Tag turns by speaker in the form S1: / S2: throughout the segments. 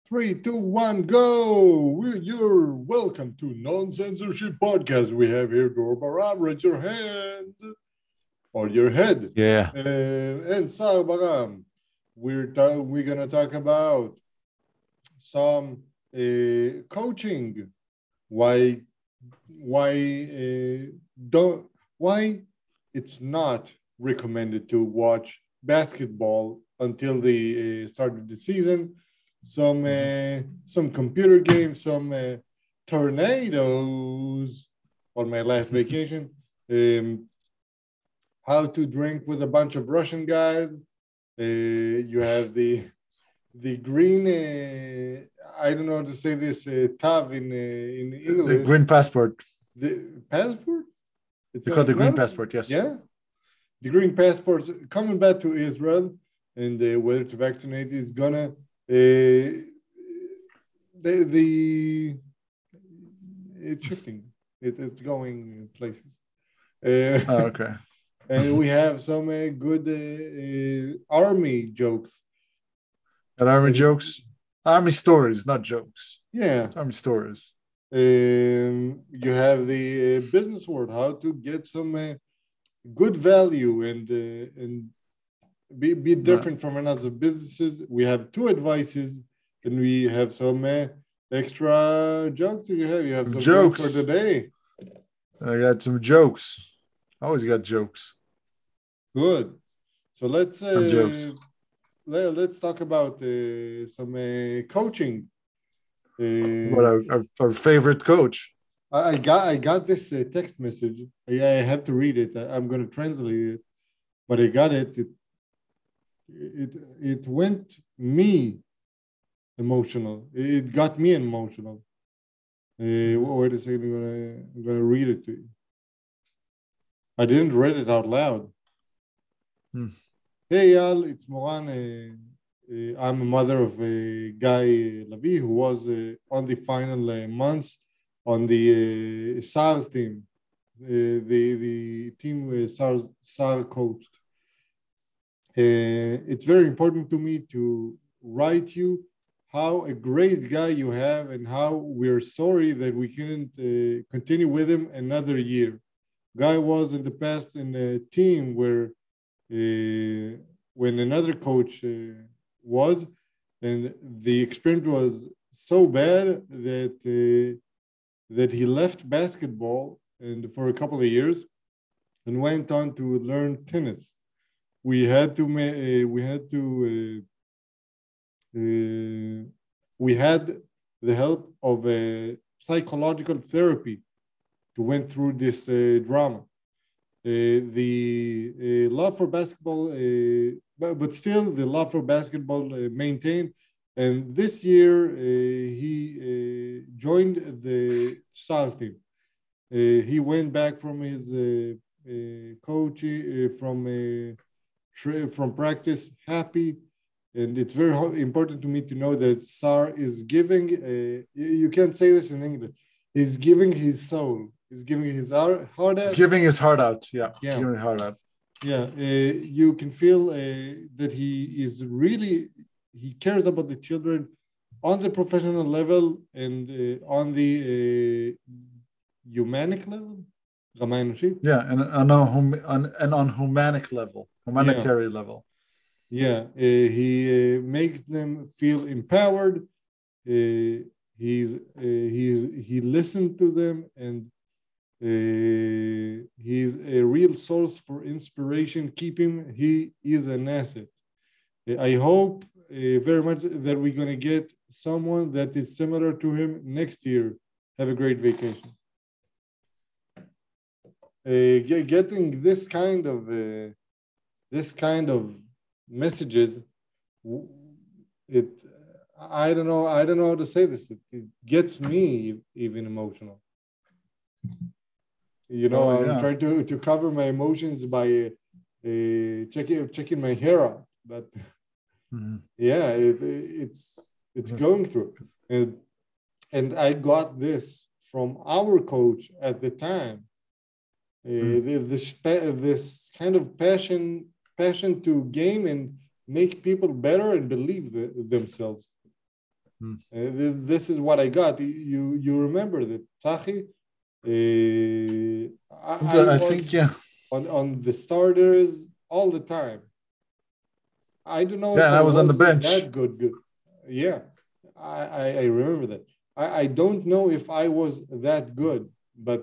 S1: Three, two, one, go! You're welcome to Non-Censorship Podcast. We have here Dor Baram. Raise your hand or your head.
S2: Yeah.
S1: And Sal Baram, we're gonna talk about some coaching. Why don't why it's not recommended to watch basketball until the start of the season. Some computer games, some tornadoes on my last vacation. How to drink with a bunch of Russian guys. You have the green. I don't know how to say this. Tav in English.
S2: The green passport.
S1: The passport.
S2: It's called the green passport. Yes.
S1: Yeah. The green passports coming back to Israel, and whether to vaccinate is gonna it's shifting. It's going places.
S2: Okay.
S1: And we have some good army jokes.
S2: And army jokes? Army stories, not jokes.
S1: Yeah.
S2: Army stories.
S1: You have the business world, how to get some good value and be different from another businesses. We have two advices, and we have some extra jokes. You have some jokes for today.
S2: I got some jokes. Always got jokes.
S1: Good. So let's talk about some coaching.
S2: What our favorite coach?
S1: I got this text message. I have to read it. I'm going to translate it, but I got it. It went me emotional. It got me emotional. Wait a second. I'm gonna read it to you. I didn't read it out loud. Hey, Yal, it's Moran. I'm a mother of Guy Lavi, who was on the final months on the SARS team, the team SAR coached. It's very important to me to write you how a great guy you have and how we're sorry that we couldn't continue with him another year. Guy was in the past in a team where when another coach was, and the experience was so bad that he left basketball and for a couple of years and went on to learn tennis. We had the help of a psychological therapy to went through this drama. The love for basketball, but still the love for basketball maintained. And this year he joined the SARS team. He went back from his coaching from practice happy, and it's very important to me to know that SAR is giving. You can't say this in English. He's giving his soul. He's giving his heart out.
S2: He's giving his heart out. Yeah.
S1: Yeah.
S2: Giving his heart out.
S1: Yeah. You can feel that he cares about the children on the professional level and on the humanic level.
S2: Yeah, and on humanitarian level.
S1: Yeah, he makes them feel empowered. He listened to them, and he's a real source for inspiration. Keep him. He is an asset. I hope very much that we're going to get someone that is similar to him next year. Have a great vacation. Getting this kind of messages, I don't know how to say this. It gets me even emotional. I'm trying to cover my emotions by checking my hair out, but yeah, it's going through, and I got this from our coach at the time. This kind of passion to game and make people better and believe themselves. This is what I got. You remember that Tzachi? I
S2: I
S1: was
S2: think, yeah.
S1: on the starters all the time. I don't know
S2: Yeah,
S1: if
S2: and
S1: I
S2: I was on
S1: was
S2: the bench.
S1: that good. Yeah, I remember that. I don't know if I was that good, but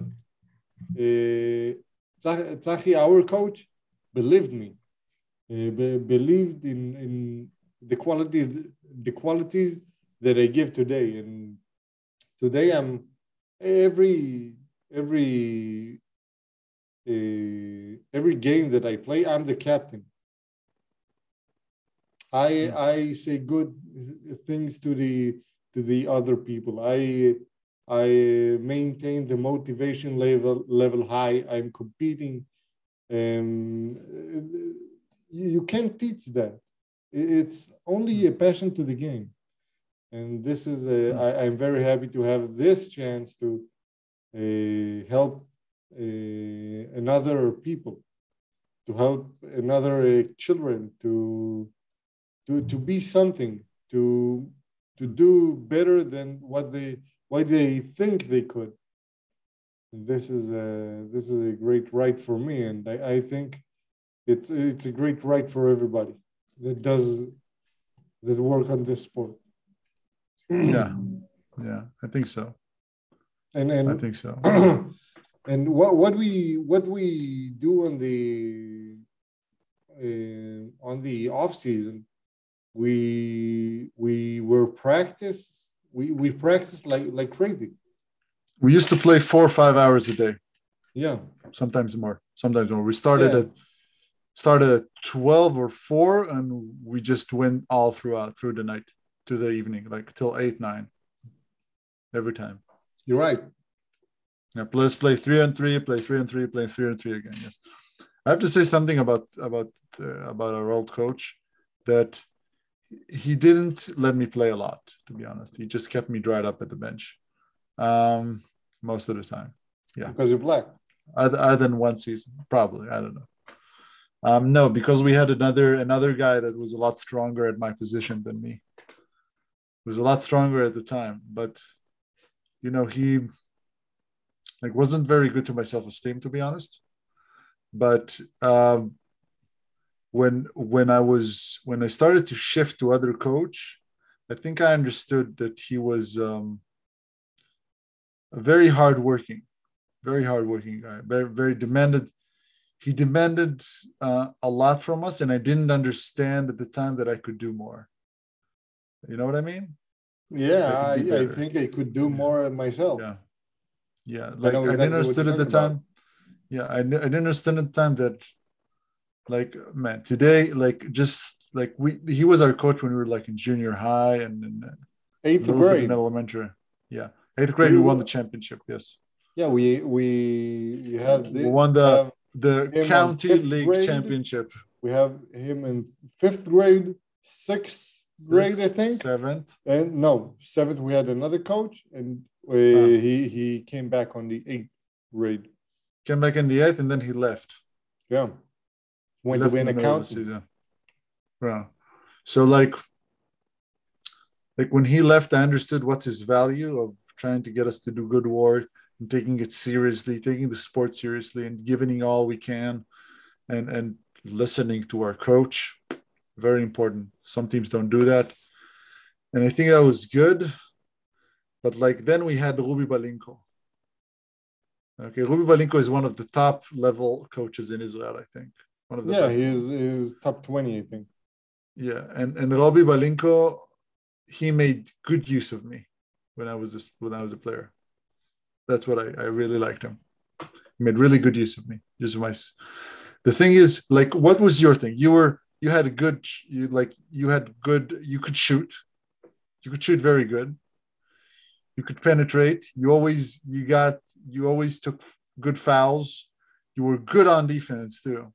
S1: Tzachi, our coach, believed me. Believed in the qualities that I give today, and today I'm every every game that I play, I'm the captain. I say good things to the other people. I maintain the motivation level high. I'm competing. You can't teach that. It's only a passion to the game, and this is I'm very happy to have this chance to help another people, to help another children to be something, to do better than what they think they could. And this is a great right for me, and I think it's a great right for everybody that work on this sport.
S2: Yeah, yeah, I think so.
S1: And
S2: I think so.
S1: and what we do on the off season, we practice like crazy.
S2: We used to play 4 or 5 hours a day,
S1: Yeah,
S2: sometimes more. We
S1: yeah.
S2: started at 12 or 4, and we just went all through the night to the evening, like till 8, 9 every time.
S1: You're right.
S2: Yeah, let's play 3-on-3, play 3-on-3, play 3-on-3 again. Yes, I have to say something about our old coach, that he didn't let me play a lot. To be honest, he just kept me dried up at the bench most of the time. Yeah,
S1: Because you're black.
S2: other than one season, probably. I don't know. No, because we had another guy that was a lot stronger at my position than me. He was a lot stronger at the time, but he wasn't very good to my self-esteem, to be honest. But when I started to shift to other coach, I think I understood that he was a very hardworking guy, very very demanded. He demanded a lot from us, and I didn't understand at the time that I could do more. You know what I mean?
S1: Yeah,
S2: I could be
S1: I
S2: better.
S1: think I could do more myself.
S2: Yeah, yeah.
S1: I know
S2: I didn't
S1: exactly what you're
S2: understand at the
S1: talking about.
S2: time. Yeah, I didn't understand at the time that, man, today, he was our coach when we were in junior high and a
S1: Eighth
S2: little bit in
S1: grade.
S2: elementary. Yeah, 8th grade we won the championship. Yes.
S1: Yeah, we have
S2: We won
S1: we have
S2: the
S1: him on
S2: county
S1: fifth
S2: league
S1: grade.
S2: championship.
S1: We have him in 5th grade, 6th grade, I think.
S2: 7th.
S1: And no, 7th we had another coach, and he came back on the 8th grade.
S2: Came back in the 8th, and then he left.
S1: Yeah, went to be an accountant.
S2: Yeah. So when he left, I understood what's his value of trying to get us to do good work and taking it seriously, taking the sport seriously, and giving all we can, and listening to our coach. Very important. Some teams don't do that, and I think that was good. But then we had Ruby Balinko. Okay, Ruby Balinko is one of the top level coaches in Israel, I think. One of the best.
S1: He's top 20, I think.
S2: Yeah, and Ruby Balinko, he made good use of me when I was a player. That's what I really liked him. He made really good use of me. The thing is, what was your thing? You could shoot. You could shoot very good. You could penetrate. You always took good fouls. You were good on defense too.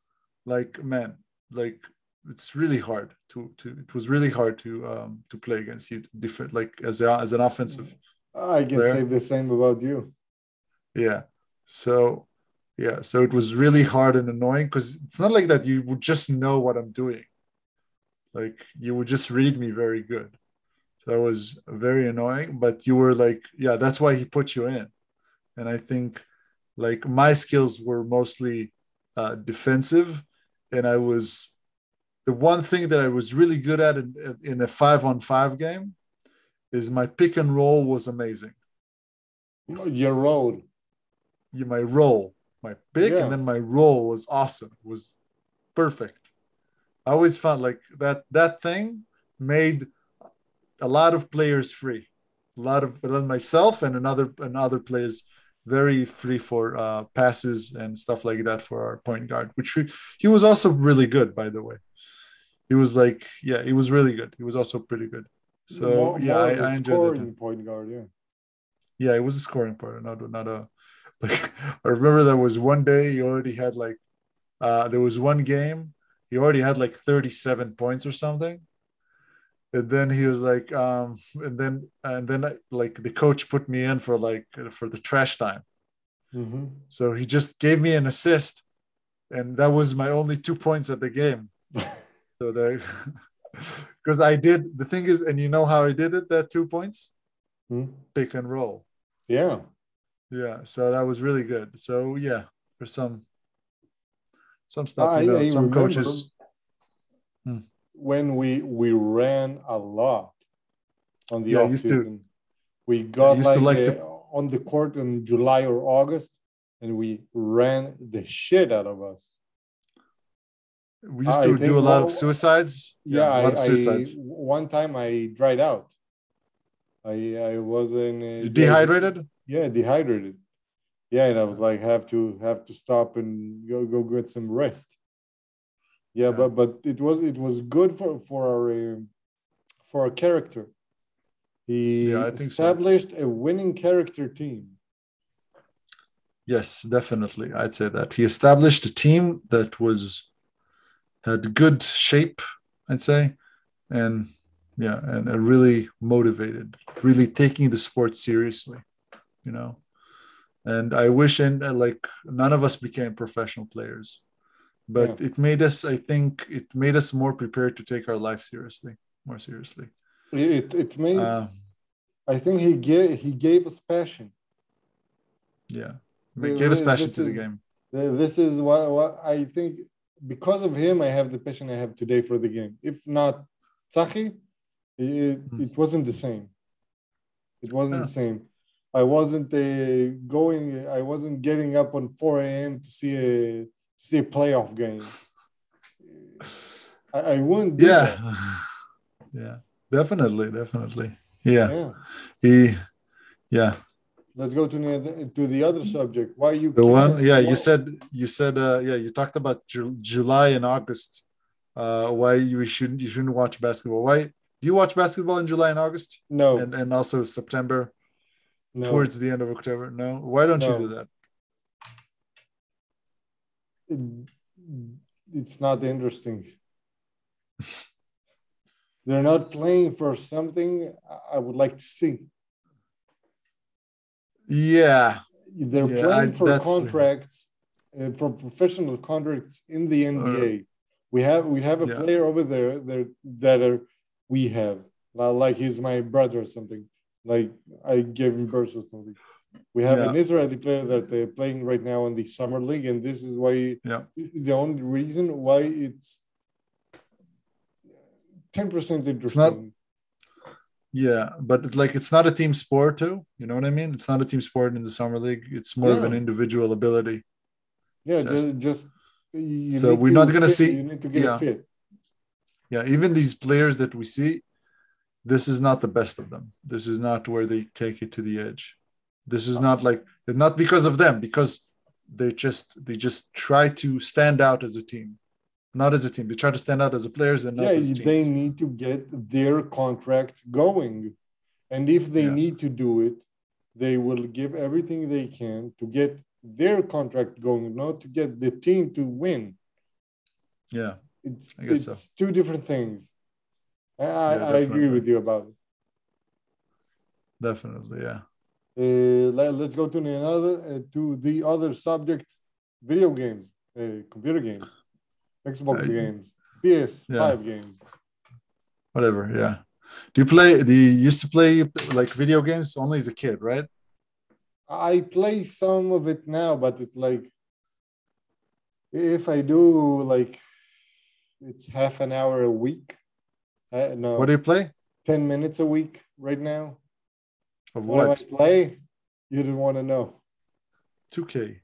S2: It's really hard it was really hard to play against you, different, as an offensive.
S1: I can
S2: player.
S1: say the same about you.
S2: Yeah. So it was really hard and annoying, because it's not like that you would just know what I'm doing. You would just read me very good. So that was very annoying. But you were like, yeah, that's why he put you in. And I think like my skills were mostly defensive, and I was the one thing that I was really good at in a 5-on-5 game is my pick and roll was amazing.
S1: Your role.
S2: My roll, my pick, and
S1: Yeah.
S2: then my roll was awesome. It was perfect. I always found like that thing made a lot of players free. A lot of myself and another players very free for passes and stuff like that for our point guard, which he was also really good, by the way. He was like, yeah, he was really good. He was also pretty good. So yeah,
S1: More of a
S2: I enjoyed that time.
S1: scoring point guard. Yeah.
S2: Yeah, it was a scoring part, not a like. I remember there was one day he already had like there was one game he already had like 37 points or something, and then he was like and then like the coach put me in for the trash time.
S1: Mm-hmm.
S2: So he just gave me an assist, and that was my only 2 points at the game. So there, because I did the thing is, and you know how I did it, that 2 points? Pick and roll.
S1: Yeah.
S2: Yeah. So that was really good. So yeah, for some stuff,
S1: I
S2: some
S1: remember
S2: coaches. Hmm.
S1: when we ran a lot on the
S2: Yeah, I
S1: off
S2: used to.
S1: season. We
S2: Yeah, I
S1: got
S2: used to
S1: like
S2: like to.
S1: on the court in July or August, and we ran the shit out of us.
S2: We used
S1: I
S2: to do
S1: think
S2: a lot of suicides.
S1: yeah,
S2: Yeah, a lot of
S1: I
S2: suicides.
S1: one time I dried out. I wasn't
S2: You dehydrated?
S1: yeah, dehydrated. Yeah, and I was like have to stop and go get some rest. Yeah,
S2: Yeah.
S1: but it was good for our character. He
S2: Yeah, I think so.
S1: established a winning character team.
S2: Yes, definitely. I'd say that he established a team that had good shape, I'd say, and yeah, and really motivated, really taking the sport seriously, you know. And I wish, and like none of us became professional players,
S1: Yeah,
S2: but it made us. I think it made us more prepared to take our life seriously, more seriously.
S1: it made.
S2: Uh,
S1: I think he gave us passion.
S2: yeah, it gave us passion
S1: This
S2: to the
S1: is
S2: game.
S1: this is what I think. Because of him, I have the passion I have today for the game. If not Tzachi,
S2: Mm.
S1: it wasn't the same. It wasn't
S2: Yeah.
S1: the same. I wasn't going. I wasn't getting up on 4 a.m. to see a playoff game. I wouldn't do
S2: Yeah,
S1: that.
S2: yeah, definitely. Yeah,
S1: Yeah.
S2: he, yeah.
S1: Let's go to the other subject. Why you
S2: The one,
S1: can't?
S2: yeah,
S1: What?
S2: you said, yeah, you talked about July and August. Why you shouldn't watch basketball? Why do you watch basketball in July and August,
S1: No,
S2: and also September
S1: no,
S2: towards the end of October? No, why don't you do
S1: no.
S2: that?
S1: It, it's not interesting. They're not playing for something I would like to see.
S2: Yeah,
S1: They're
S2: yeah, I
S1: playing for
S2: that's
S1: contracts, for professional contracts in the
S2: uh,
S1: NBA. We have a
S2: yeah,
S1: player over there that are we have like he's my brother or something. Like I gave him birth or something. We have
S2: yeah,
S1: an Israeli player that they're playing right now in the summer league, and this is why
S2: yeah,
S1: this is the only reason why it's 10%
S2: it's not.
S1: interesting.
S2: Yeah, but it's not a team sport too. You know what I mean? It's not a team sport in the summer league. It's more of an
S1: Yeah,
S2: individual ability
S1: yeah.
S2: test.
S1: Just you
S2: So
S1: need
S2: we're
S1: to
S2: not gonna
S1: fit. You
S2: see.
S1: need to get a
S2: Yeah,
S1: fit.
S2: yeah. Even these players that we see, this is not the best of them. This is not where they take it to the edge. This is not like not because of them, because they just try to stand out as a team, not as a team. They try to stand out as a players and
S1: Yeah,
S2: not as
S1: they
S2: teams.
S1: need to get their contract going. And if they
S2: Yeah,
S1: need to do it, they will give everything they can to get their contract going, not to get the team to win.
S2: yeah.
S1: It's
S2: I guess so.
S1: it's two different things. I,
S2: Yeah,
S1: I agree
S2: definitely,
S1: with you about it.
S2: definitely. Yeah.
S1: Let's go to the other subject: video games, computer games, Xbox
S2: I,
S1: games, PS5
S2: yeah.
S1: games.
S2: Whatever. Yeah. Do you used to play like video games only as a kid, right?
S1: I play some of it now, but it's like if I do like it's half an hour a week.
S2: What do
S1: No,
S2: you play?
S1: 10 minutes a week right now.
S2: Of
S1: What do I
S2: what?
S1: play? You didn't want to know.
S2: 2K.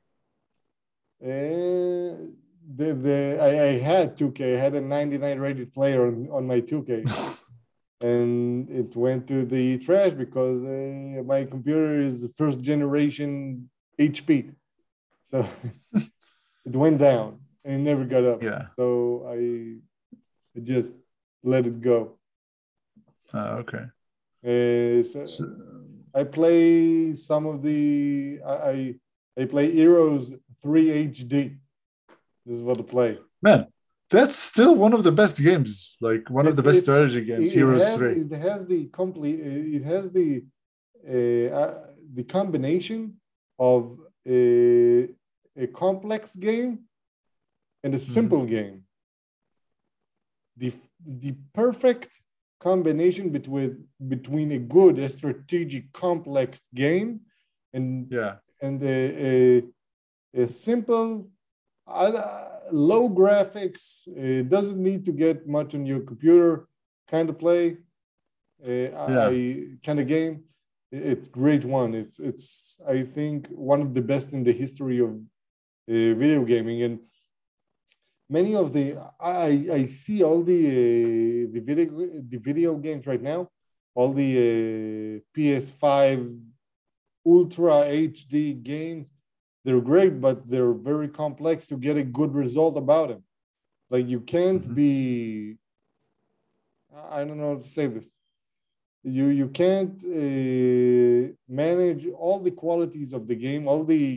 S1: I had 2K. I had a 99 rated player on my 2K, and it went to the trash because my computer is the first generation HP, so it went down and it never got up.
S2: Yeah.
S1: So I just let it go.
S2: Okay.
S1: So
S2: So,
S1: I play some of the I play Heroes 3 HD. This is what I play.
S2: man, that's still one of the best games. Like one of the best
S1: It's
S2: strategy games, Heroes 3.
S1: it has the complete it has the combination of a complex game and a
S2: Mhm.
S1: simple game. The perfect combination between a good a strategic complex game and
S2: Yeah.
S1: a simple low graphics. It doesn't need to get much on your computer kind of play.
S2: Yeah.
S1: I kind of game. It's great one. It's I think one of the best in the history of video gaming, and many of the I see all the video games right now, all the PS5 Ultra HD games. They're great, but they're very complex to get a good result about them. Like you can't
S2: Mhm.
S1: be, I don't know how to say this. You can't manage all the qualities of the game,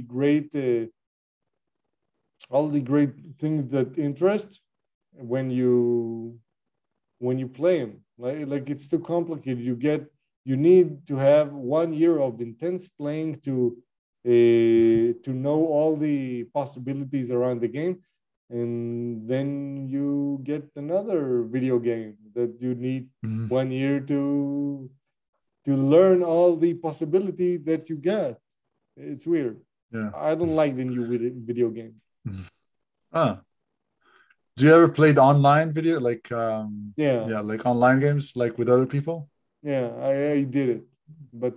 S1: all the great things that interest when you play them. Like it's too complicated. You need to have 1 year of intense playing to know all the possibilities around the game, and then you get another video game that you need
S2: Mhm.
S1: 1 year to learn all the possibility that you get. It's weird.
S2: Yeah.
S1: I don't like the new video game.
S2: Mhm. Ah. Do you ever played online video like
S1: Yeah,
S2: yeah, like online games like with other people?
S1: yeah, I did it, but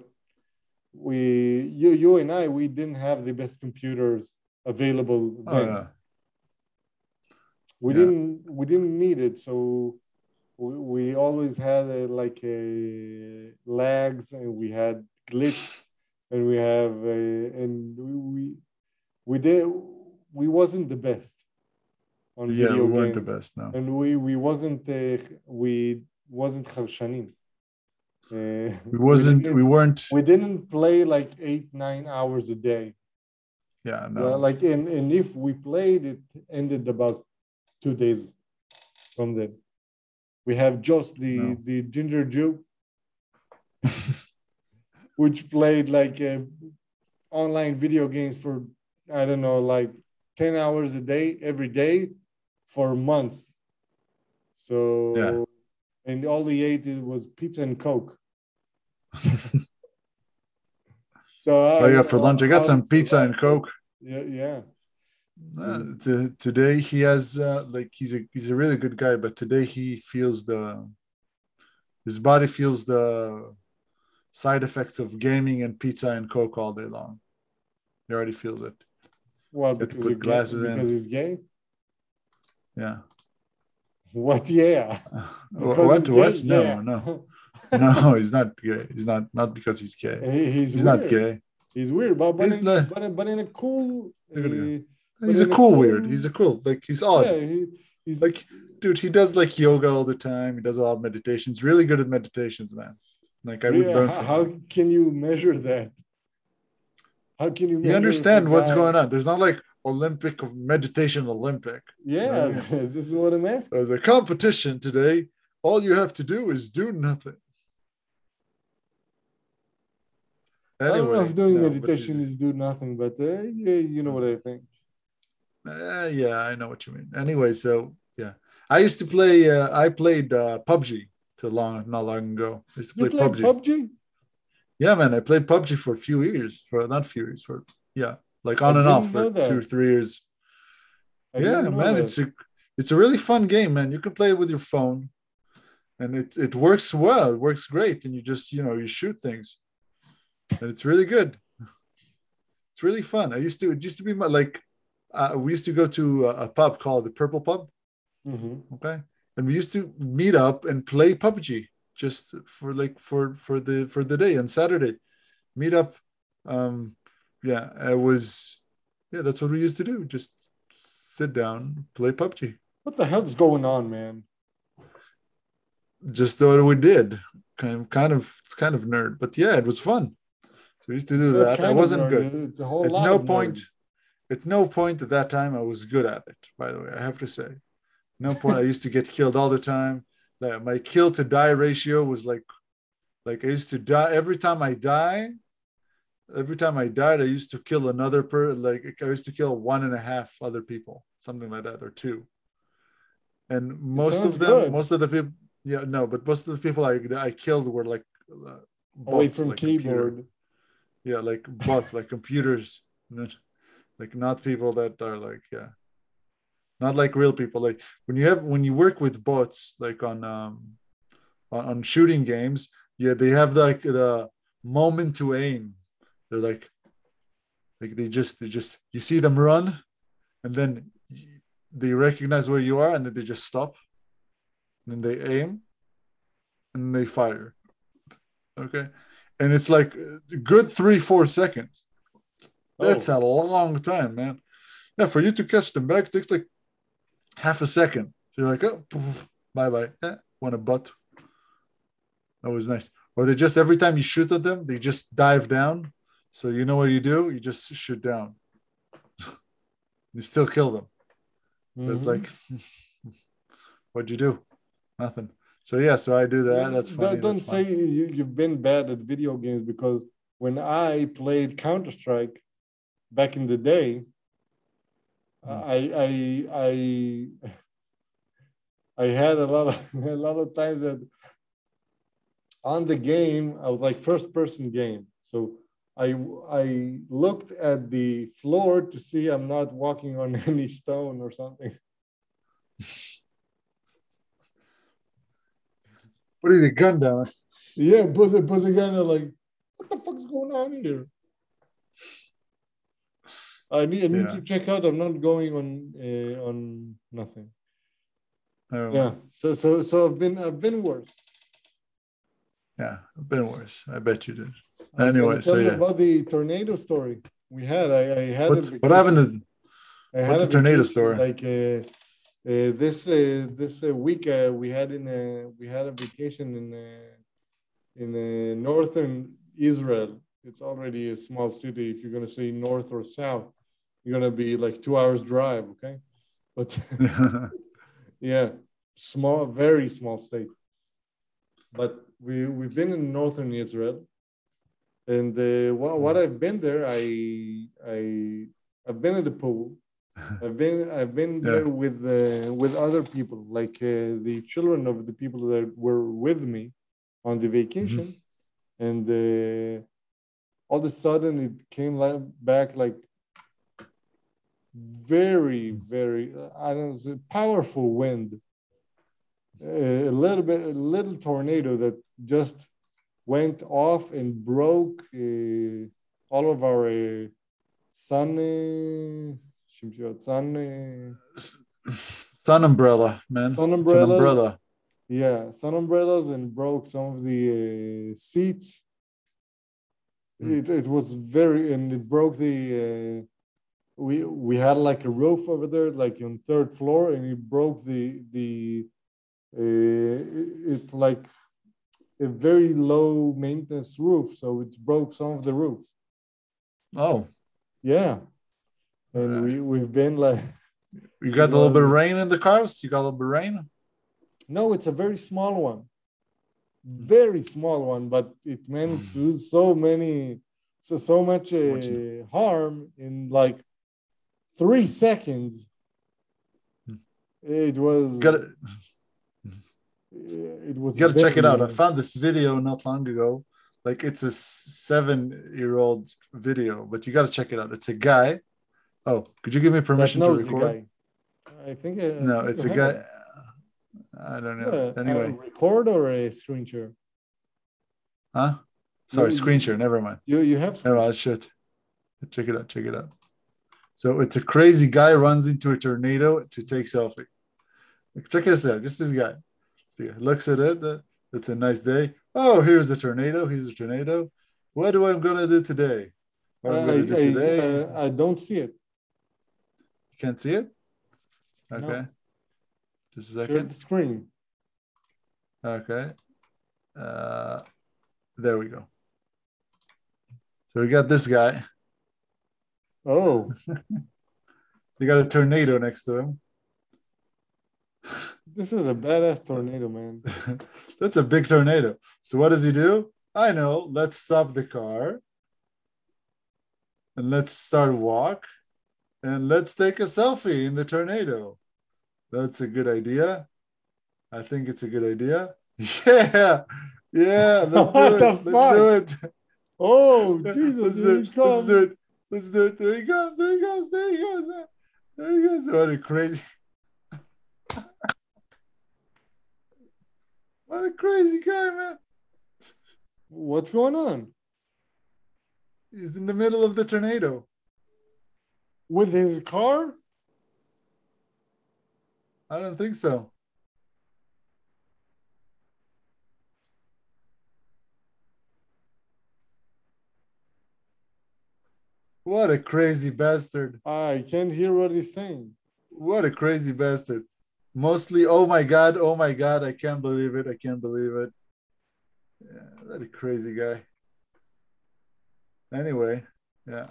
S1: you and I, we didn't have the best computers available
S2: Oh
S1: then.
S2: yeah. Yeah.
S1: We didn't need it, so we always had like a lags, and we had glitches, and we did we wasn't the best on
S2: Yeah,
S1: video
S2: we weren't the
S1: games,
S2: best, no.
S1: and we wasn't charshanim.
S2: We weren't
S1: We didn't play like 8 9 hours a day.
S2: yeah,
S1: Yeah,
S2: no.
S1: like and if we played, it ended about 2 days from then. We have just
S2: No.
S1: the ginger Jew, which played like online video games for I don't know, like 10 hours a day every day for months.
S2: Yeah.
S1: So and all he ate was pizza and coke. So
S2: Oh
S1: I
S2: yeah,
S1: don't
S2: for
S1: know
S2: lunch I got
S1: how to
S2: some pizza
S1: survive
S2: and
S1: that.
S2: Coke.
S1: Yeah, yeah.
S2: Today he has like he's a really good guy, but today he feels the his body feels the side effects of gaming and pizza and Coke all day long. He already feels it.
S1: Well,
S2: Got to
S1: because
S2: put glasses
S1: because
S2: in.
S1: he's gay.
S2: Yeah.
S1: What? Yeah. Because
S2: What?
S1: he's gay.
S2: What? No,
S1: Yeah.
S2: no, no. He's not gay. He's not because he's gay.
S1: He's
S2: He's not
S1: weird.
S2: gay.
S1: He's weird,
S2: He's like
S1: but in a cool,
S2: a good guy.
S1: but
S2: He's a
S1: in a
S2: cool weird. He's
S1: cool,
S2: a cool like he's
S1: yeah.
S2: odd.
S1: He's
S2: Like, dude, he does like yoga all the time. He does a lot of meditations. Really good at meditations, man. Like I would
S1: really.
S2: learn from
S1: How
S2: him.
S1: can you measure that? How can you
S2: You
S1: measure if a
S2: understand what's
S1: guy?
S2: going on. There's not like Olympic of meditation Olympic. You know what
S1: Yeah,
S2: I mean?
S1: this is what I'm asking.
S2: There's a competition today. All you have to do is do nothing.
S1: I don't know if
S2: Anyway,
S1: doing
S2: no, but
S1: meditation is do nothing, but yeah, you know what I think.
S2: yeah, I know what you mean. Anyway, so yeah, I used to play. I played PUBG not long ago. I used to
S1: You
S2: play
S1: played
S2: PUBG.
S1: PUBG?
S2: Yeah, man, I played PUBG for a few years. For not few years, for yeah, like
S1: I
S2: on and off
S1: didn't know
S2: for
S1: that.
S2: 2 or 3 years.
S1: I
S2: Yeah,
S1: didn't know
S2: man,
S1: that.
S2: it's a really fun game, man. You can play it with your phone, and it works well. It works great, and you just you shoot things, and it's really good. It's really fun. It used to be my like we used to go to a pub called the Purple Pub.
S1: Mm-hmm.
S2: Okay, and we used to meet up and play PUBG just for like for the day on Saturday. Meet up. Um, yeah, it was. Yeah, that's what we used to do. Just sit down, play PUBG.
S1: What the hell's going on, man?
S2: Just what we did. It's kind of nerd, but yeah, it was fun. So we used to
S1: It's
S2: do
S1: not
S2: that. I
S1: kind of
S2: wasn't
S1: nerd.
S2: good.
S1: It's a whole
S2: At
S1: lot
S2: no
S1: of
S2: point,
S1: nerd.
S2: at no point at that time, I was good at it. By the way, I have to say, no point. I used to get killed all the time. Like my kill to die ratio was like I used to die every time I die. Every time I died, I used to kill another like I used to kill one and a half other people, something like that, or two. And
S1: It sounds good.
S2: most of the people, yeah, no, but most of the people I killed were like
S1: Away
S2: bots,
S1: from
S2: like computer,
S1: keyboard.
S2: yeah, like bots, like computers, like not people that are like, yeah, not like real people. Like when you work with bots, like on shooting games, yeah, they have like the moment to aim. They're like they just you see them run, and then they recognize where you are, and then they just stop, and then they aim, and they fire. Okay, and it's like a good 3-4 seconds. That's
S1: Oh.
S2: a long time, man. Yeah, for you to catch them back, it takes like half a second. So you're like, oh, bye bye. Yeah, want a butt. That was nice. Or they just every time you shoot at them, they just dive down. So you know what you do? You just shoot down. You still kill them. So it's
S1: Mm-hmm.
S2: like, what'd you do? Nothing. So yeah, so I do that. That's funny. That's
S1: Don't say
S2: fun.
S1: you've been bad at video games, because when I played Counter-Strike back in the day,
S2: Mm.
S1: I had a lot of a lot of times that on the game I was like first person game. So I looked at the floor to see I'm not walking on any stone or something.
S2: What are the gun down?
S1: Yeah, but again, I'm like, what the fuck is going on here? I need
S2: Yeah.
S1: to check out. I'm not going on nothing.
S2: Oh,
S1: Yeah. So I've been worse.
S2: yeah. I've been worse. I bet you did.
S1: I'm gonna
S2: Anyway, so
S1: tell you
S2: yeah.
S1: about the tornado story we had. I had a
S2: What happened
S1: vacation.
S2: to
S1: I had
S2: what's
S1: a
S2: the tornado
S1: vacation
S2: story?
S1: like this week. We had a vacation in northern Israel. It's already a small city. If you're gonna say north or south, you're gonna be like 2 hours drive. Okay, but yeah, small, very small state. But we've been in northern Israel, and what I've been there, I've been at the pool. I've been
S2: Yeah.
S1: there with other people, like the children of the people that were with me on the
S2: Mhm.
S1: vacation, and all of a sudden it came back like very, very I don't know, it's a powerful wind, a little tornado that just went off and broke all of our sun, sun,
S2: Sun umbrella, man.
S1: sun
S2: It's an
S1: umbrellas.
S2: umbrella.
S1: Yeah, sun umbrellas, and broke some of the seats.
S2: Mm.
S1: It was very, and it broke the. We had like a roof over there, like on third floor, and it broke the. It's like a very low maintenance roof, so it broke some of the roof.
S2: Oh,
S1: Yeah, and
S2: uh,
S1: we've been like
S2: you
S1: it
S2: got a little bit of
S1: was
S2: rain in the house. You got a little bit of rain.
S1: no, it's a very small one, very small one, but it managed to do so many, so much
S2: What's
S1: harm in like 3 seconds. It was
S2: got it?
S1: It was
S2: You got to check it out. I
S1: very,
S2: found this video not long ago. Like it's a 7-year-old video, but you got to check it out. It's a guy. Oh, could you give me
S1: that
S2: permission to
S1: nosy
S2: record?
S1: guy. I
S2: No,
S1: think
S2: it's
S1: you
S2: a
S1: have.
S2: guy. I don't know.
S1: Yeah, a
S2: Anyway,
S1: record or a screen share?
S2: huh? Sorry,
S1: You
S2: screen
S1: you
S2: share. Never mind.
S1: you have screen
S2: No, I should check it out. Check it out. So it's a crazy guy runs into a tornado to take selfie. Like, check this out. Just this guy. Looks at it. It's a nice day. Oh, here's a tornado. Here's a tornado. What am I gonna do today? What I'm gonna do today?
S1: I don't see it.
S2: You can't see it. Okay.
S1: No.
S2: Just a
S1: Share
S2: second.
S1: the screen.
S2: Okay. There we go. So we got this guy.
S1: Oh,
S2: You got a tornado next to him.
S1: this is a badass tornado, man.
S2: That's a big tornado. So what does he do? I know. Let's stop the car. And let's start a walk. And let's take a selfie in the tornado. That's a good idea. I think it's a good idea. Yeah. Yeah. Let's
S1: What
S2: do
S1: the
S2: it. Let's
S1: fuck?
S2: do it.
S1: Oh, Jesus, here he
S2: Let's
S1: comes.
S2: do it. Let's do it. There he goes. There he goes. There he goes. There he goes. What a crazy. What a crazy guy, man.
S1: What's going on?
S2: He's in the middle of the tornado.
S1: With his car?
S2: I don't think so. What a crazy bastard.
S1: I can't hear what he's saying.
S2: What a crazy bastard. Mostly, oh my God, I can't believe it. I can't believe it. Yeah, that a crazy guy. Anyway, yeah.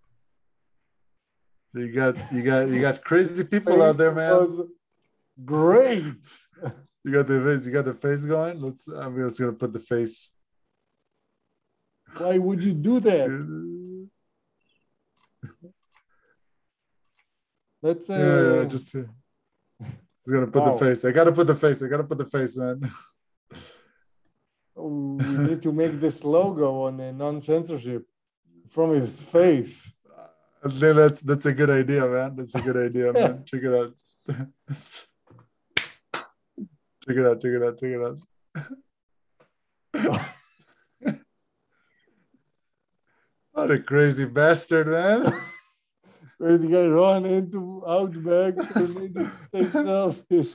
S2: So you got crazy people out there, man.
S1: Was great.
S2: You got the face going. I'm just gonna put the face.
S1: Why would you do that? Let's
S2: just gonna put the face. I gotta put the face, man.
S1: We need to make this logo on a non-censorship from his face.
S2: I think that's a good idea, man. That's a good idea, man. Check it out. Check it out. Check it out. Check it out. What a crazy bastard, man.
S1: Crazy guy run into Outback to take selfies.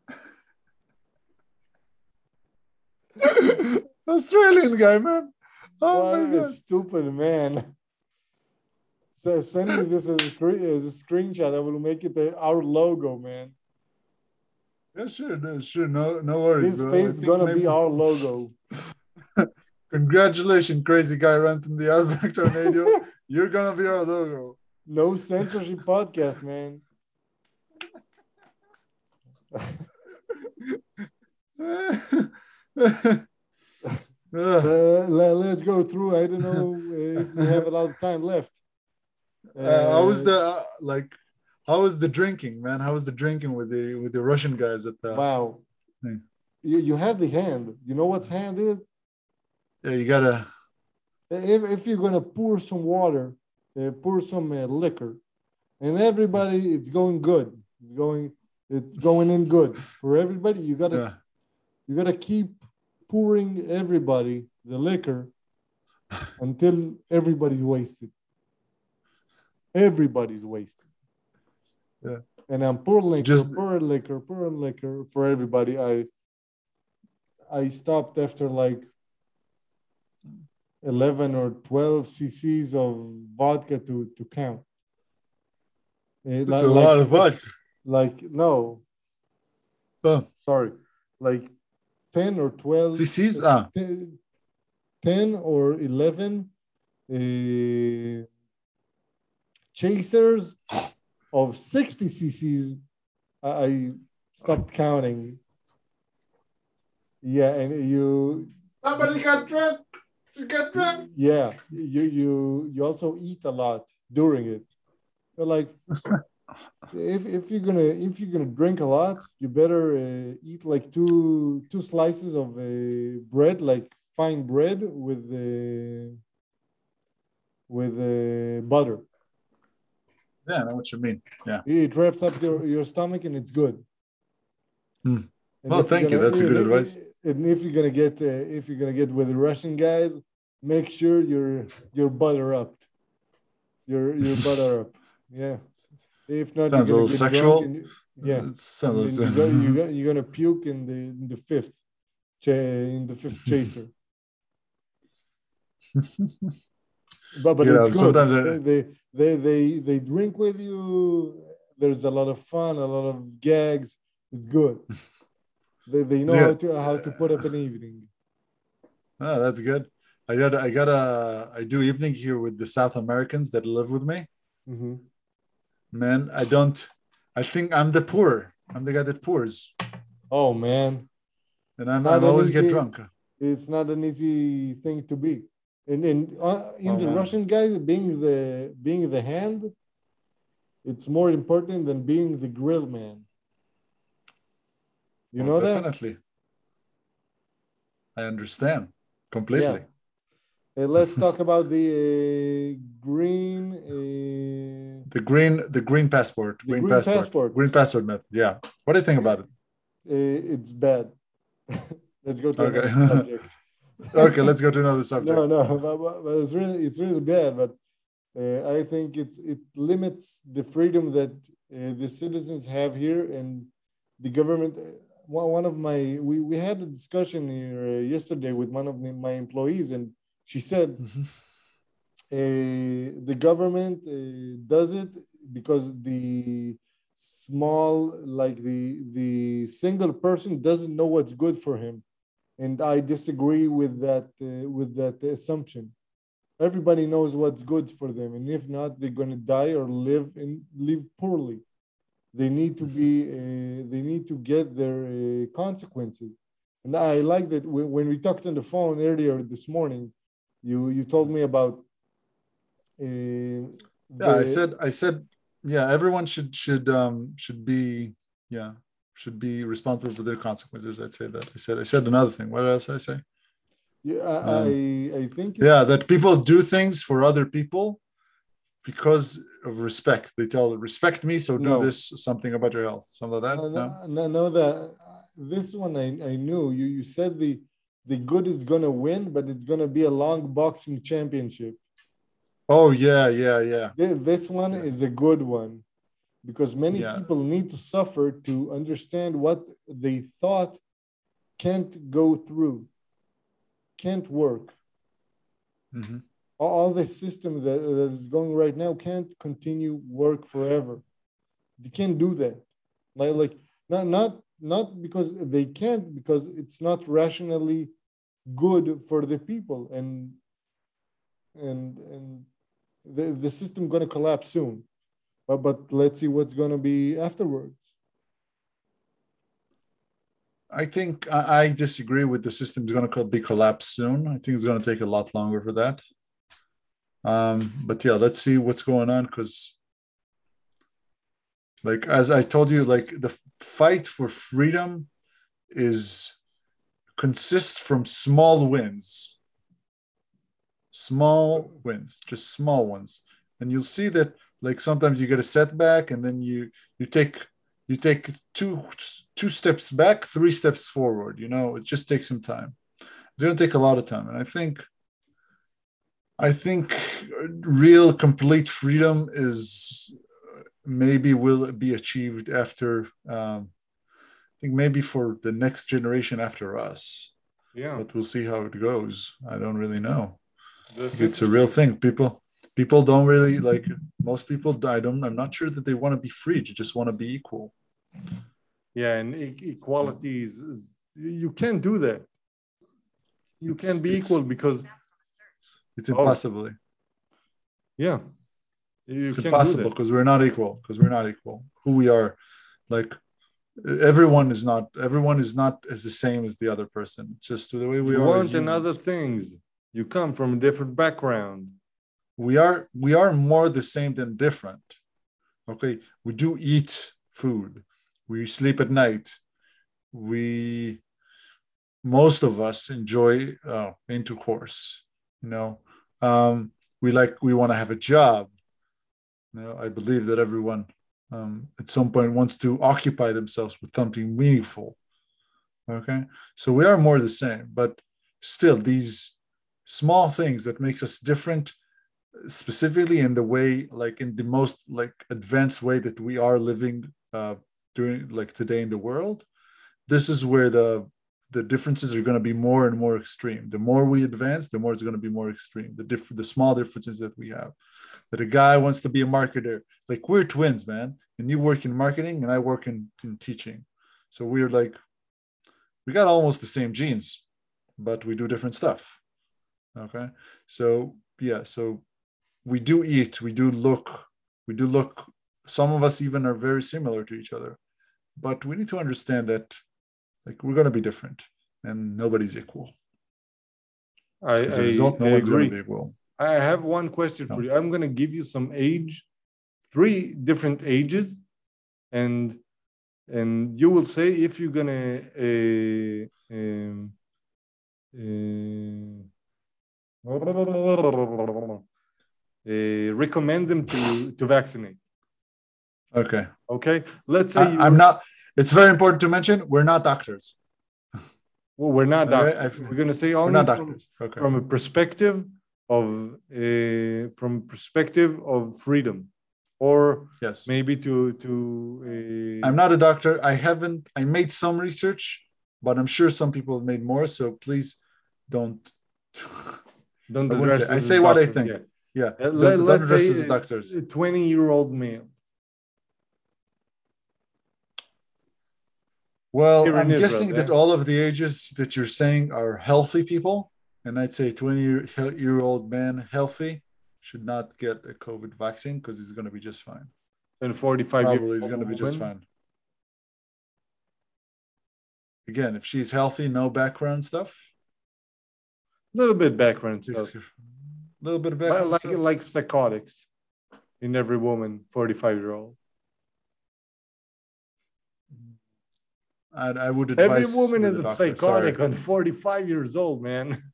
S2: Australian guy, man. Oh
S1: What
S2: my
S1: a
S2: God.
S1: stupid man. So send me this as a screenshot. I will make it our logo, man.
S2: Yeah, sure. No worries.
S1: This
S2: bro.
S1: face is gonna be our logo.
S2: Congratulations, crazy guy runs in the Outback tornado. You're gonna be our logo.
S1: No censorship podcast, man. Let's go through. I don't know if we have a lot of time left.
S2: How was the drinking, man? How was the drinking with the Russian guys at the?
S1: Wow.
S2: thing?
S1: You have the hand. You know what hand is?
S2: Yeah, you gotta.
S1: If you're gonna pour some water, pour some liquor, and everybody, it's going good. It's going in good for everybody. You gotta keep pouring everybody the liquor until everybody's wasted. Everybody's wasted.
S2: Yeah.
S1: And I'm pouring liquor for everybody. I stopped after like 11 or 12 cc's of vodka to count.
S2: It's a lot of vodka.
S1: No.
S2: Oh.
S1: Sorry. Like 10 or 12
S2: cc's?
S1: 10 or 11 chasers of 60 cc's. I stopped counting. Yeah, and
S2: Somebody got drunk. You got drunk.
S1: Yeah, you also eat a lot during it. You're like, if you're gonna drink a lot, you better eat like two slices of bread, like fine bread with butter.
S2: Yeah, I know what you mean. Yeah.
S1: It wraps up your stomach and it's good.
S2: Hmm.
S1: And
S2: Well,
S1: if you're
S2: thank you.
S1: gonna
S2: That's a good advice.
S1: and if you're gonna get with the Russian guys, make sure you're butter up. You're butter up. Yeah. If not, you're
S2: Sounds a
S1: gonna
S2: little
S1: get drunk
S2: sexual.
S1: and yeah,
S2: It
S1: and
S2: sounds.
S1: then you're gonna puke in the fifth chaser. But
S2: You
S1: it's
S2: know,
S1: good.
S2: sometimes
S1: They drink with you. There's a lot of fun, a lot of gags. It's good. They know
S2: yeah.
S1: how to put up an evening.
S2: Oh, that's good. I do evening here with the South Americans that live with me.
S1: Hmm.
S2: Man, I think I'm the poor. I'm the guy that pours.
S1: Oh man,
S2: And
S1: not
S2: I'm
S1: an
S2: always get
S1: easy.
S2: drunk.
S1: It's not an easy thing to be. And in
S2: Oh
S1: the
S2: man.
S1: Russian guys being the hand, it's more important than being the grill man. You
S2: Well,
S1: know that?
S2: definitely. I understand
S1: Yeah.
S2: completely.
S1: Let's talk about
S2: The green passport,
S1: the green passport.
S2: green passport method. Yeah. What do you think about it?
S1: It's bad. Let's go to another
S2: Okay.
S1: subject.
S2: Okay, let's go to another subject.
S1: No, but it's really bad. But I think it limits the freedom that the citizens have here, and the government. One of my we had a discussion here yesterday with one of my employees, and she said
S2: Mhm.
S1: the government does it because the small, like the single person doesn't know what's good for him, and I disagree with that assumption. Everybody knows what's good for them, and if not, they're going to die or live poorly. They need to get their consequences. And I like that when we talked on the phone earlier this morning, you told me about
S2: Yeah,
S1: the
S2: I said, yeah, everyone should be, yeah, should be responsible for their consequences. I'd say that. I said another thing. What else did I say?
S1: yeah,
S2: Um,
S1: I think
S2: yeah,
S1: it's
S2: that people do things for other people because of respect. They tell respect me, so do
S1: no,
S2: this something about your health. Something like that.
S1: no,
S2: No.
S1: no, no, no, that this one I knew. You said the good is gonna win, but it's gonna be a long boxing championship.
S2: Oh yeah, yeah, yeah,
S1: This one
S2: yeah,
S1: is a good one because many
S2: yeah.
S1: people need to suffer to understand what they thought can't go through, can't work.
S2: Hmm.
S1: All the system that is going right now can't continue work forever. They can't do that. Like not because they can't, because it's not rationally good for the people, and the system going to collapse soon. But let's see what's going to be afterwards.
S2: I think I disagree with the system's going to be collapsed soon. I think it's going to take a lot longer for that. But yeah, let's see what's going on because, like as I told you, like the fight for freedom is consists from small wins, just small ones, and you'll see that like sometimes you get a setback, and then you take you take two steps back, three steps forward. You know, it just takes some time. It's going to take a lot of time, and I think real complete freedom is maybe will be achieved after I think maybe for the next generation after us,
S1: Yeah,
S2: but we'll see how it goes. I don't really know.
S1: that's
S2: It's a real
S1: interesting.
S2: thing. People don't really like most people. I don't. I'm not sure that they want to be free. They just want to be equal.
S1: Yeah, and equality is you can't do that. You
S2: It's
S1: can't be
S2: it's
S1: equal because
S2: it's
S1: oh
S2: impossible.
S1: yeah, you
S2: It's
S1: can't do
S2: impossible
S1: that.
S2: because we're not equal. Because we're not equal. Who we are, like everyone is not as the same as the other person. It's just the way we
S1: You
S2: are as
S1: want another
S2: humans.
S1: things. You come from a different background.
S2: We are more the same than different. Okay, we do eat food. We sleep at night. We Most of us enjoy intercourse. You know, we want to have a job. I believe that everyone at some point wants to occupy themselves with something meaningful. Okay, so we are more the same, but still, these small things that makes us different, specifically in the way, like in the most like advanced way that we are living during like today in the world. This is where the differences are going to be more and more extreme. The more we advance, the more it's going to be more extreme. The small differences that we have. That a guy wants to be a marketer. Like we're twins, man. And you work in marketing and I work in teaching. So we're like, we got almost the same genes, but we do different stuff. Okay. So yeah, so we do eat, we do look, some of us even are very similar to each other. But we need to understand that like we're gonna be different and nobody's equal. As a result, no
S1: I
S2: one's gonna
S1: agree.
S2: be equal.
S1: I have one question for
S2: No.
S1: you. I'm going to give you some age, three different ages, and you will say if you're going to recommend them to vaccinate.
S2: Okay.
S1: Okay. Let's say
S2: I'm not. It's very important to mention we're not doctors.
S1: Well, we're not
S2: Okay,
S1: doctors. We're going to say
S2: we're
S1: only
S2: not doctors. Okay.
S1: from a perspective of freedom, or
S2: Yes.
S1: maybe
S2: I'm not a doctor. I made some research, but I'm sure some people have made more. So please don't.
S1: don't
S2: I wouldn't
S1: address
S2: say. I
S1: us
S2: say
S1: as
S2: what I
S1: doctors.
S2: think.
S1: Yeah.
S2: Yeah. Don't
S1: Let's
S2: address
S1: say
S2: us as doctors.
S1: a 20-year-old male.
S2: Well,
S1: Here in
S2: I'm
S1: Israel,
S2: guessing that all of the ages that you're saying are healthy people. And I'd say 20-year-old man healthy should not get a COVID vaccine because he's going to be just fine.
S1: and 45 year
S2: Probably he's going to be just fine. Again, if she's healthy, no background stuff.
S1: A little bit background stuff.
S2: A little bit of background stuff.
S1: Like psychotics in every woman, 45-year-old.
S2: I would advise
S1: every woman is a
S2: doctor.
S1: psychotic on 45 years old, man.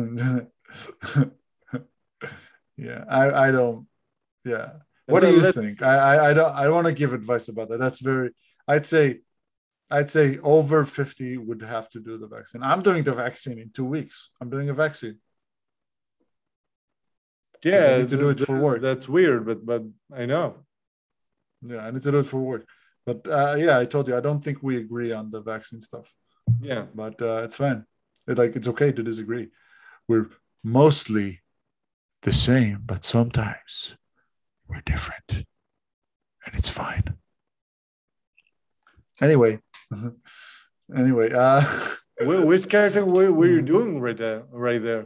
S2: Yeah, I don't. Yeah. What do you think? I don't want to give advice about that. That's very. I'd say over 50 would have to do the vaccine. I'm doing the vaccine in 2 weeks. I'm doing a vaccine.
S1: Yeah,
S2: I need to do it for work.
S1: That's weird, but I know.
S2: Yeah, I need to do it for work. But yeah, I told you I don't think we agree on the vaccine stuff.
S1: Yeah,
S2: but it's fine. It's okay to disagree. We're mostly the same, but sometimes we're different, and it's fine. Anyway,
S1: which character were you doing right there?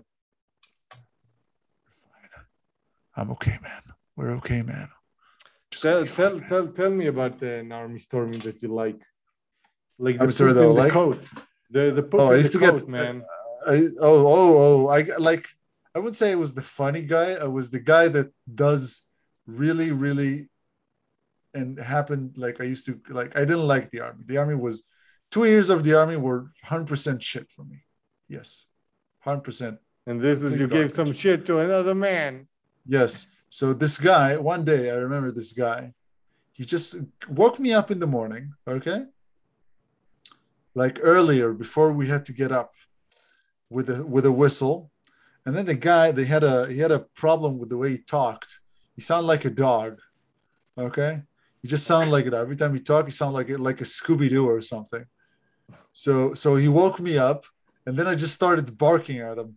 S2: I'm okay, man. We're okay, man.
S1: Tell me about an army stormy that you like the
S2: poop in
S1: the coat. The poop in the coat, man.
S2: I wouldn't say it was the funny guy. I was the guy that does really, really, and happened like I used to like. I didn't like the army. The army was 2 years of the army were 100% shit for me. Yes, 100%.
S1: And this is you gave some shit to another man.
S2: Yes. So this guy, one day, I remember this guy, he just woke me up in the morning, okay? Like earlier, before we had to get up with a whistle. And then the guy, he had a problem with the way he talked. He sounded like a dog, okay? He just sounded like it. Every time he talked, he sounded like a Scooby-Doo or something. So he woke me up, and then I just started barking at him.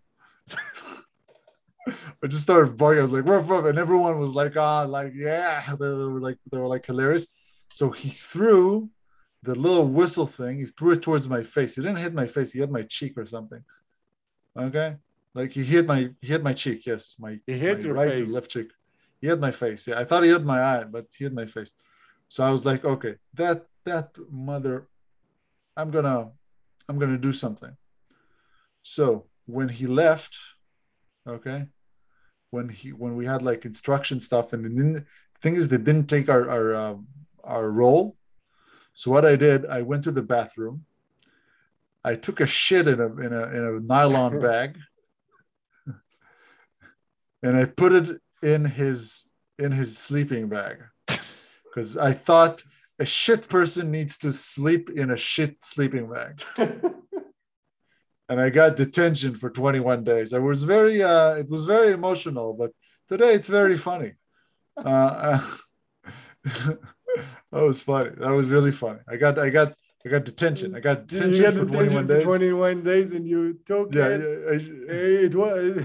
S2: I just started barking. I was like, ruff, ruff. And everyone was like, yeah. They were like hilarious. So he threw the little whistle thing. He threw it towards my face. He didn't hit my face. He hit my cheek or something. Okay. Like he hit my cheek. Yes.
S1: He hit your
S2: right
S1: face.
S2: or left cheek. He hit my face. Yeah. I thought he hit my eye, but he hit my face. So I was like, okay, that mother, I'm gonna do something. So when he left, okay, when we had like instruction stuff and Thing is, they didn't take our roll. So what I did, I went to the bathroom. I took a shit in a nylon bag, and I put it in his sleeping bag because I thought a shit person needs to sleep in a shit sleeping bag. And I got detention for 21 days. It was very emotional, but today it's very funny. Uh, that was funny. That was really funny. I got detention. I got
S1: You
S2: detention
S1: got
S2: for 21
S1: detention for
S2: days.
S1: 21 days and you took
S2: Yeah,
S1: it. It was,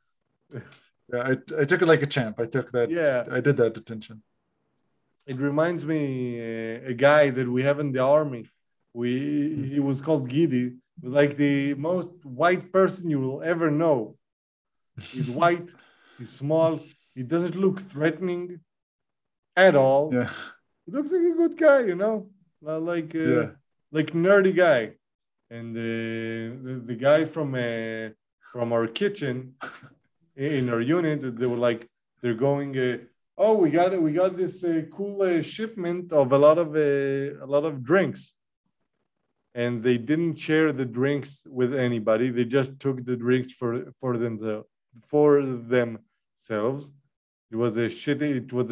S2: I took it like a champ. I took that.
S1: yeah.
S2: I did that detention.
S1: It reminds me a guy that we have in the army. He was called Gidi. He was like the most white person you will ever know. He's white. He's small. He doesn't look threatening at all.
S2: Yeah,
S1: He looks like a good guy, you know, like
S2: yeah.
S1: like nerdy guy. And the guy from our kitchen in our unit, they were like, they're going, oh, we got this cool shipment of a lot of drinks, and they didn't share the drinks with anybody. They just took the drinks for themselves. It was a shitty. It was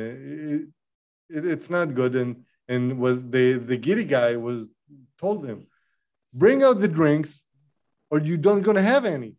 S1: it's not good, and was the giddy guy was told them, bring out the drinks, or you don't gonna have any.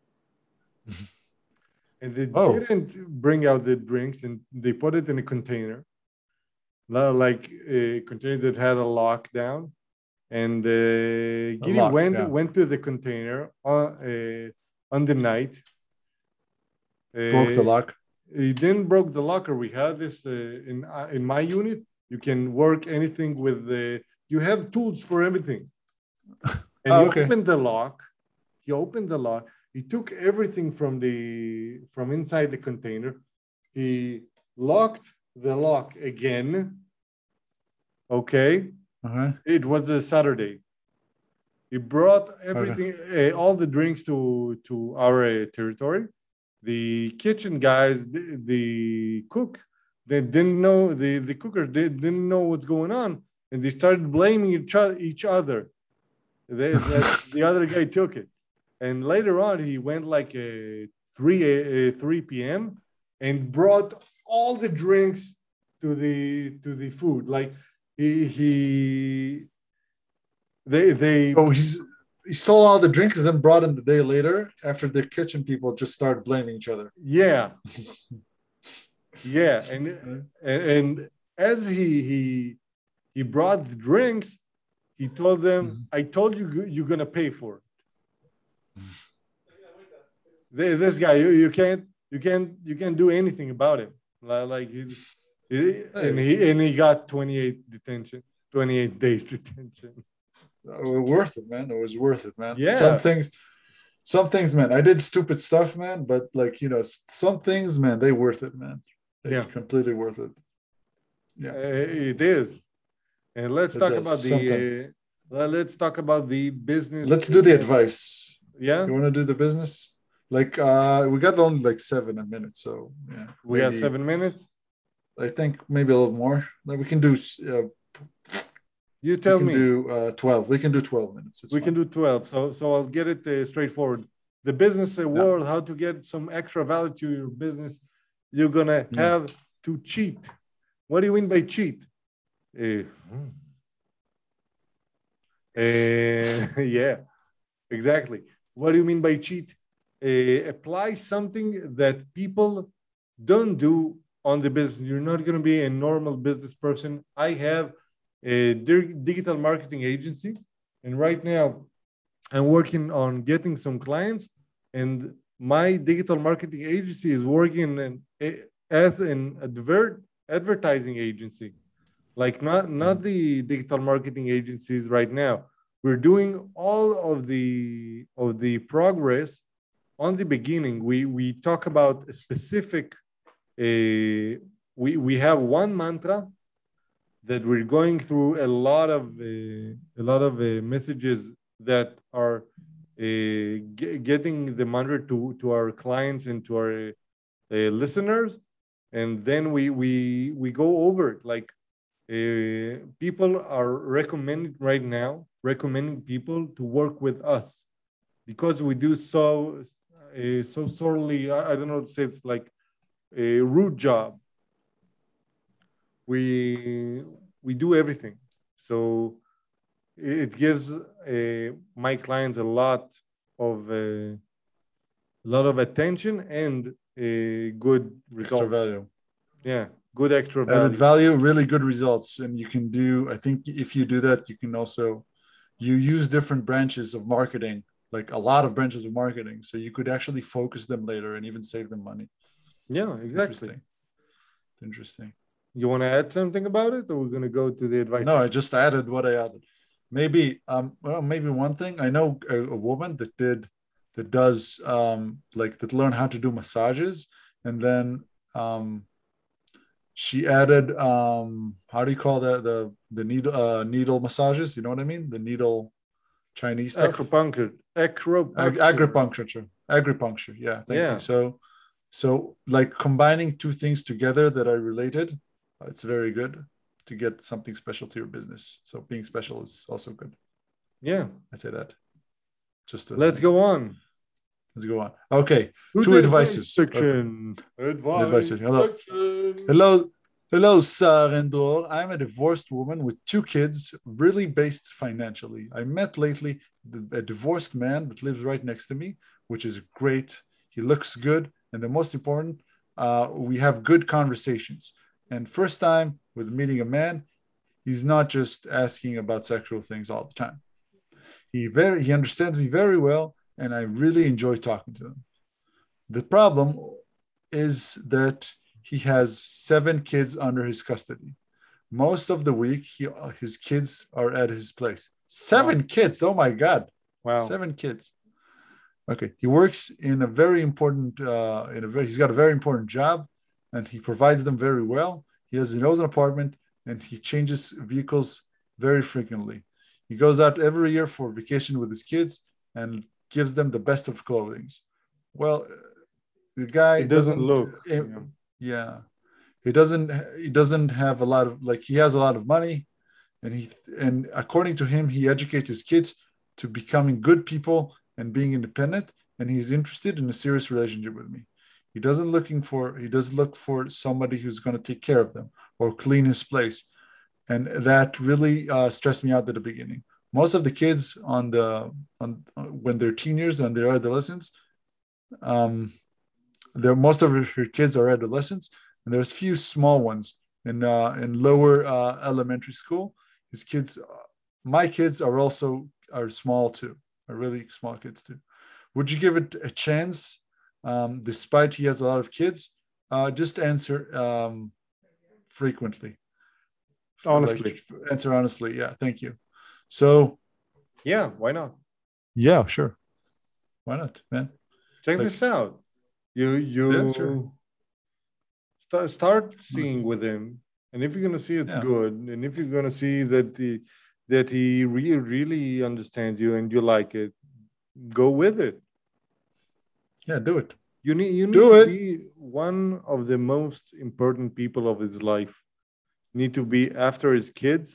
S1: And they
S2: Oh,
S1: didn't bring out the drinks, and they put it in a container, like a container that had a lockdown. And
S2: a
S1: Giri
S2: lock. Yeah.
S1: went to the container on the night.
S2: Broke the
S1: Uh,
S2: lock.
S1: he didn't broke the locker. We had this in my unit. You can work anything with the. You have tools for everything. And
S2: Oh,
S1: he
S2: okay.
S1: opened the lock. He opened the lock. He took everything from inside the container. He locked the lock again. Okay.
S2: Uh-huh.
S1: It was a Saturday. He brought
S2: Okay.
S1: everything, all the drinks to our territory. The kitchen guys, the cook, they didn't know the cooker didn't know what's going on, and they started blaming each other. That the other guy took it, and later on he went like a 3 p.m. and brought all the drinks to the food. Like he they
S2: So he stole all the drinks and then brought in the day later after the kitchen people just started blaming each other.
S1: yeah, yeah,
S2: Uh,
S1: and as he brought the drinks, he told them,
S2: mhm.
S1: "I told you you're gonna pay for it." This guy, you can't do anything about him. Like
S2: Hey,
S1: and he got 28 days detention.
S2: worth it, man. It was worth it, man.
S1: Yeah,
S2: Some things, man. I did stupid stuff, man, but like some things, man, they worth it, man. They
S1: yeah,
S2: completely worth it. Yeah,
S1: it is. And let's
S2: it
S1: talk
S2: does.
S1: about
S2: Sometimes.
S1: let's talk about the business.
S2: Let's do the advice.
S1: Yeah,
S2: You want to do the business? Like we got only like 7 minutes, so yeah,
S1: we got
S2: maybe
S1: 7 minutes.
S2: I think maybe a little more. Like
S1: You
S2: we
S1: tell
S2: can
S1: me.
S2: do 12. We can do 12 minutes. It's
S1: We can
S2: fine.
S1: do 12. So I'll get it straightforward. The business
S2: Yeah.
S1: world, how to get some extra value to your business. You're gonna
S2: Yeah.
S1: have to cheat. What do you mean by cheat? Uh, yeah, exactly. What do you mean by cheat? Apply something that people don't do on the business. You're not going to be a normal business person. I have a digital marketing agency, and right now I'm working on getting some clients, and my digital marketing agency is working as an advertising agency, like not
S2: Mhm.
S1: the digital marketing agencies right now. We're doing all of the progress on the beginning. We talk about a specific we have one mantra that we're going through a lot of messages that are getting the mantra to our clients and to our listeners. and then we go over it. Like people are recommending people to work with us because we do so sorely. I don't know what to say. It's like a rude job. We do everything, so it gives my clients a lot of attention and good
S2: Extra
S1: results.
S2: value.
S1: Yeah, good extra
S2: Added
S1: value.
S2: value, really good results. And you can do, I think if you do that, you can also, you use different branches of marketing, like a lot of branches of marketing. So you could actually focus them later and even save them money.
S1: Yeah,
S2: It's
S1: exactly.
S2: interesting. It's interesting.
S1: You want to add something about it, or we're going to go to the advice?
S2: No, I just added what I added. Maybe, well, maybe one thing. I know a woman that does like that learn how to do massages, and then she added how do you call that, the needle massages? You know what I mean? The needle Chinese stuff. Acupuncture. Yeah, thank you. So like combining two things together that are related, it's very good to get something special to your business. So being special is also good.
S1: Yeah,
S2: I'd say that.
S1: Let's go on.
S2: Okay, two advices.
S1: Section.
S2: Advice. Hello, Sar and Dror. I'm a divorced woman with two kids, really based financially. I met lately a divorced man that lives right next to me, which is great. He looks good. And the most important, we have good conversations. And first time with meeting a man, he's not just asking about sexual things all the time. He understands me very well, and I really enjoy talking to him. The problem is that he has 7 kids under his custody. Most of the week, his kids are at his place. 7 kids! Oh my God!
S1: Wow!
S2: 7 kids. Okay, he works in a very important. He's got a very important job, and he provides them very well. He has his own apartment, and he changes vehicles very frequently. He goes out every year for vacation with his kids and gives them the best of clothing. Well, the guy
S1: doesn't look.
S2: Yeah, he doesn't have a lot of, like, he has a lot of money, and according to him, he educates his kids to becoming good people and being independent, and he's interested in a serious relationship with me. He doesn't look for somebody who's going to take care of them or clean his place. And that really stressed me out at the beginning. Most of the kids when they're teenagers and they're adolescents, most of her kids are adolescents, and there's few small ones in lower elementary school. His kids, my kids are small too, are really small kids too. Would you give it a chance? Despite he has a lot of kids, just answer frequently.
S1: Honestly.
S2: Answer honestly. Yeah, thank you. So.
S1: Yeah, why not?
S2: Yeah, sure. Why not, man?
S1: Check this out. You start seeing with him, and if you're gonna see it's good, and if you're gonna see that he really understands you and you like it, go with it.
S2: Yeah, do it.
S1: You need to be one of the most important people of his life. Need to be after his kids,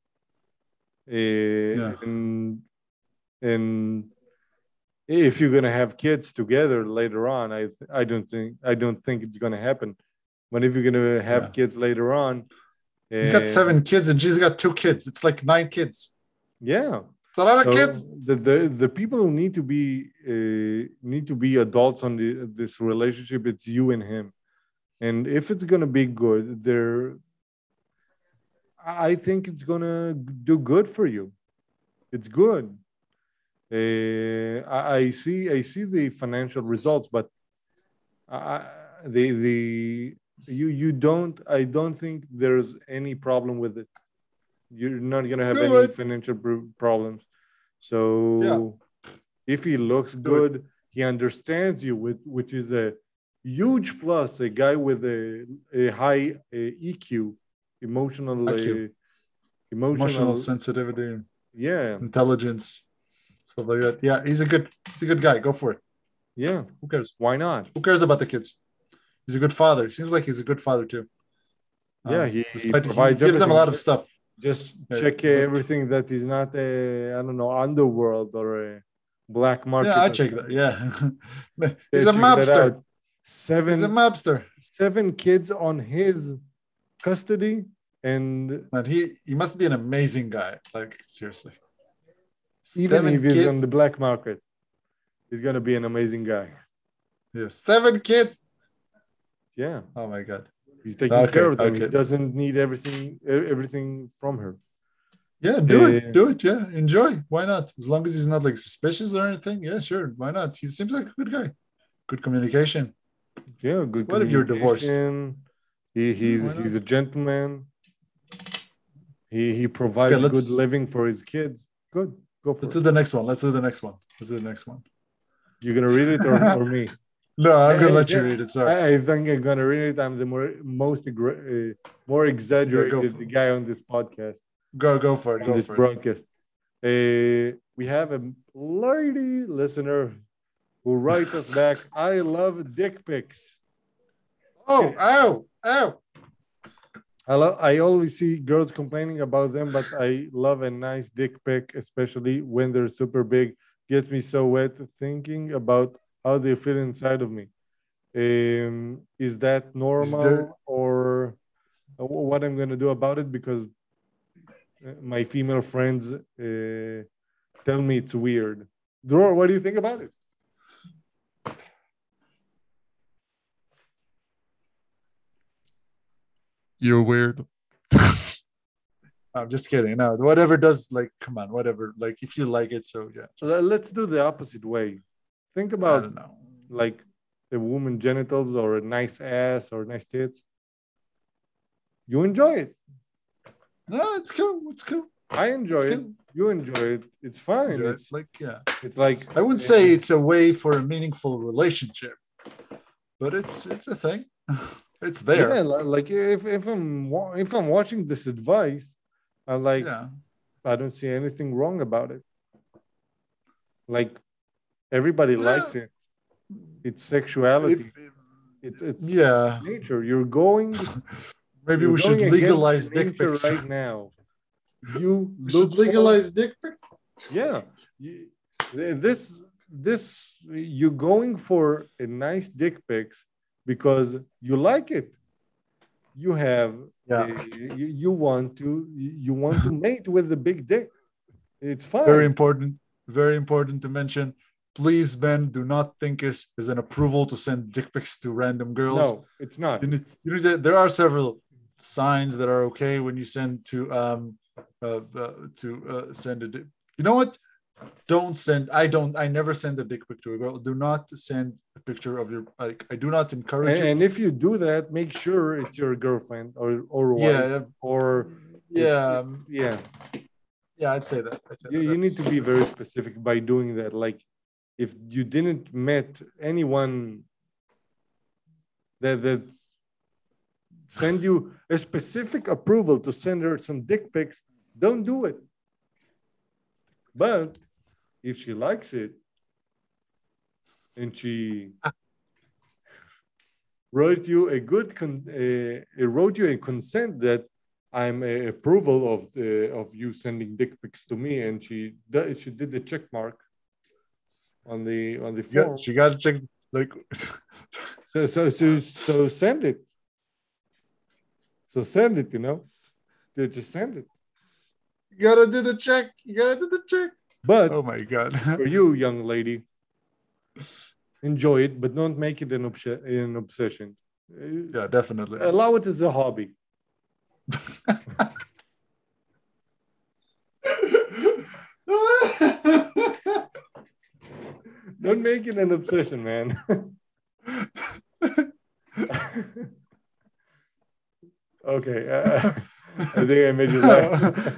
S1: and if you're gonna have kids together later on, I don't think it's gonna happen. But if you're gonna have kids later on,
S2: he's got 7 kids and she's got 2 kids. It's like 9 kids.
S1: Yeah,
S2: it's a lot of kids.
S1: The people who need to be adults on this relationship, it's you and him. And if it's gonna be good, I think it's gonna do good for you. It's good. I see the financial results, but I don't think there's any problem with it. You're not gonna have any financial problems. So if he looks good, he understands you, which is a huge plus. A guy with a high EQ. Emotional
S2: sensitivity,
S1: intelligence,
S2: stuff like that. Yeah, he's a good guy. Go for it.
S1: Yeah,
S2: who cares?
S1: Why not?
S2: Who cares about the kids? He's a good father. Seems like he's a good father too.
S1: Yeah, he
S2: Despite he
S1: provides
S2: gives them a lot
S1: everything.
S2: of stuff.
S1: Just
S2: Yeah,
S1: check
S2: but
S1: everything that is not a, I don't know, underworld or a black
S2: yeah,
S1: market
S2: I
S1: or
S2: check that.
S1: something.
S2: Yeah, he's a
S1: Check that
S2: mobster.
S1: out.
S2: He's a
S1: Seven
S2: mobster.
S1: seven kids on his custody, and
S2: And he must be an amazing guy. Like seriously,
S1: even if
S2: 7
S1: he's on
S2: kids.
S1: the black market, he's gonna be an amazing guy.
S2: Yeah, 7 kids.
S1: Yeah,
S2: Oh my god.
S1: he's taking care
S2: Okay,
S1: of them. He
S2: okay.
S1: doesn't need everything from her.
S2: Yeah, do it.
S1: Uh,
S2: Do it. Yeah, enjoy. Why not? As long as he's not like suspicious or anything. Yeah, sure. Why not? He seems like a good guy. Good communication.
S1: yeah,
S2: So
S1: good
S2: what if you're divorced?
S1: communication.
S2: Yeah,
S1: He's
S2: why
S1: he's
S2: not?
S1: a gentleman. He
S2: Okay,
S1: provides good living for his kids. Good, go for
S2: let's
S1: it.
S2: do the next one. Let's do the next one. Let's do the next one.
S1: You gonna read it or me?
S2: No, I'm gonna let you
S1: think
S2: read it. Sorry.
S1: I think I'm gonna read it. I'm the more
S2: Go
S1: exaggerated
S2: for
S1: guy on this podcast,
S2: go for it.
S1: on
S2: Go
S1: this
S2: for it.
S1: broadcast. We have a lady listener who writes us back. I love dick pics.
S2: Oh, ow, ow.
S1: I always see girls complaining about them, but I love a nice dick pic, especially when they're super big. Gets me so wet thinking about how they fit inside of me. Is that
S2: Is there
S1: normal or what I'm gonna do about it? Because my female friends tell me it's weird. Dror, what do you think about it?
S3: You're weird.
S2: I'm just kidding. No, whatever does like come on, whatever. Like if you like it, so yeah.
S1: Let's do the opposite way. Think
S2: I
S1: about
S2: don't know.
S1: like a woman genitals or a nice ass or nice tits. You enjoy it.
S2: No, it's cool. It's cool.
S1: I enjoy
S2: It's
S1: it.
S2: cool.
S1: You enjoy it. It's fine.
S2: Enjoy it.
S1: It's
S2: Like yeah.
S1: it's like
S2: I wouldn't say it's a way for a meaningful relationship, but it's a thing. It's there.
S1: yeah, like if I'm watching this advice, I'm like
S2: Yeah.
S1: I don't see anything wrong about it. Like everybody likes it. It's sexuality. It's
S2: yeah.
S1: it's nature. You're going.
S2: Maybe
S1: You're
S2: we should
S1: going against
S2: legalize dick
S1: nature
S2: pics.
S1: right now. You
S2: We
S1: look
S2: should legalize dick pics.
S1: yeah. This you're going for a nice dick pics because you like it. You have
S2: Yeah.
S1: you want to mate with the big dick. It's fine.
S2: Very important to mention. Please, Ben, do not think is an approval to send dick pics to random girls.
S1: No, it's not.
S2: There are several signs that are okay when you send to send a dick. You know what? Don't send. I never send a dick pic to a girl. Do not send a picture of your like. I do not encourage it.
S1: And if you do that, make sure it's your girlfriend or wife
S2: Yeah,
S1: or
S2: yeah,
S1: yeah.
S2: yeah. I'd say that.
S1: You need to be very specific by doing that. Like if you didn't met anyone that send you a specific approval to send her some dick pics, don't do it. But if she likes it and she wrote you wrote you a consent that I'm a approval of you sending dick pics to me, and she did the check mark on the form.
S2: She got to check like.
S1: So send it. So send it. You know, just send it.
S2: You gotta do the check.
S1: But
S2: oh my god,
S1: for you, young lady, enjoy it, but don't make it an obsession.
S2: Yeah, definitely.
S1: Allow it as a hobby. Don't make it an obsession, man. Okay, I think I made you laugh.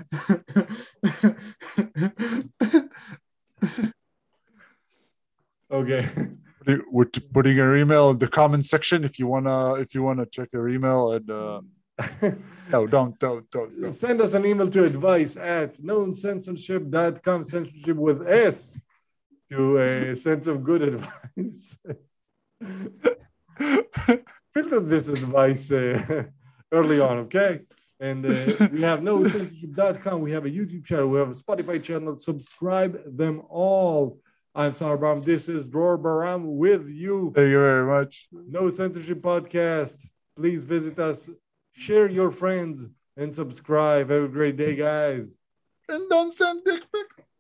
S1: Okay.
S2: We're putting your email in the comment section if you wanna check your email and no, don't.
S1: Send us an email to advice@knowncensorship.com, censorship with S, to a sense of good advice. Filter this advice early on, okay? And we have nocensorship.com. We have a YouTube channel. We have a Spotify channel. Subscribe them all. I'm Sar Baram. This is Dror Baram with you.
S2: Thank you very much.
S1: No Censorship Podcast. Please visit us. Share your friends and subscribe. Have a great day, guys.
S2: And don't send dick pics.